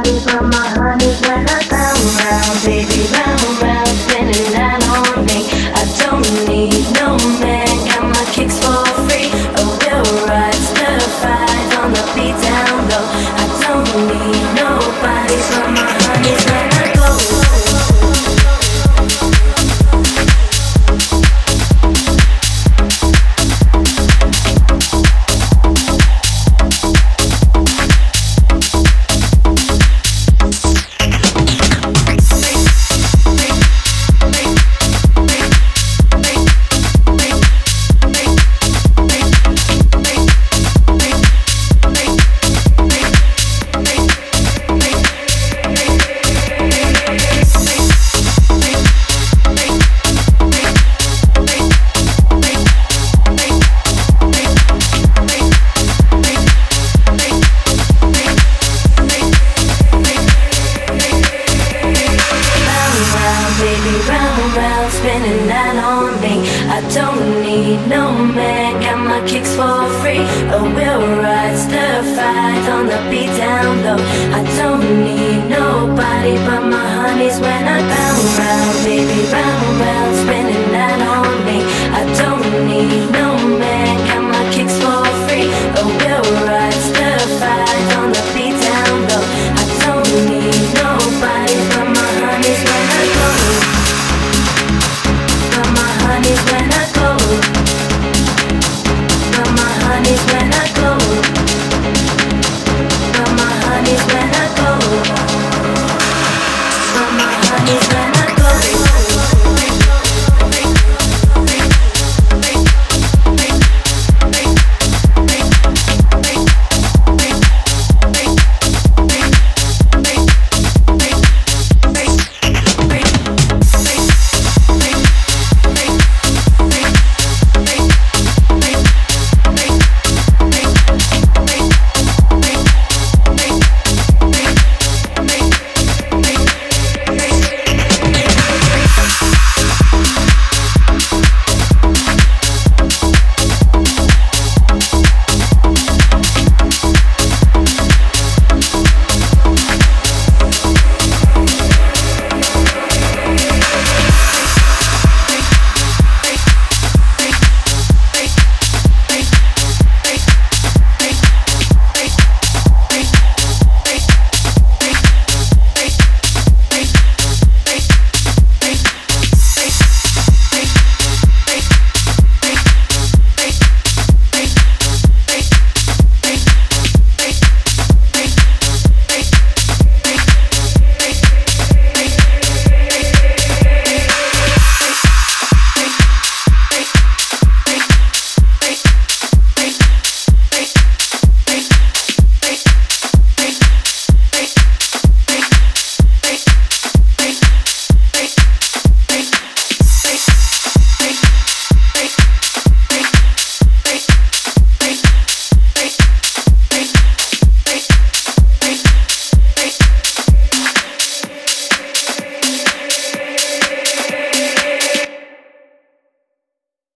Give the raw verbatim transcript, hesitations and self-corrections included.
nobody but my honey when I come round, baby, round, round, spinning that on me. I don't need no man, got my kicks for free. A real ride, certified on the beat down low. I don't need nobody but my honey when I go. Spinning that on me. I don't need no man, got my kicks for free. A wheel ride, certified on the beat down low. I don't need nobody but my honeys when I bounce.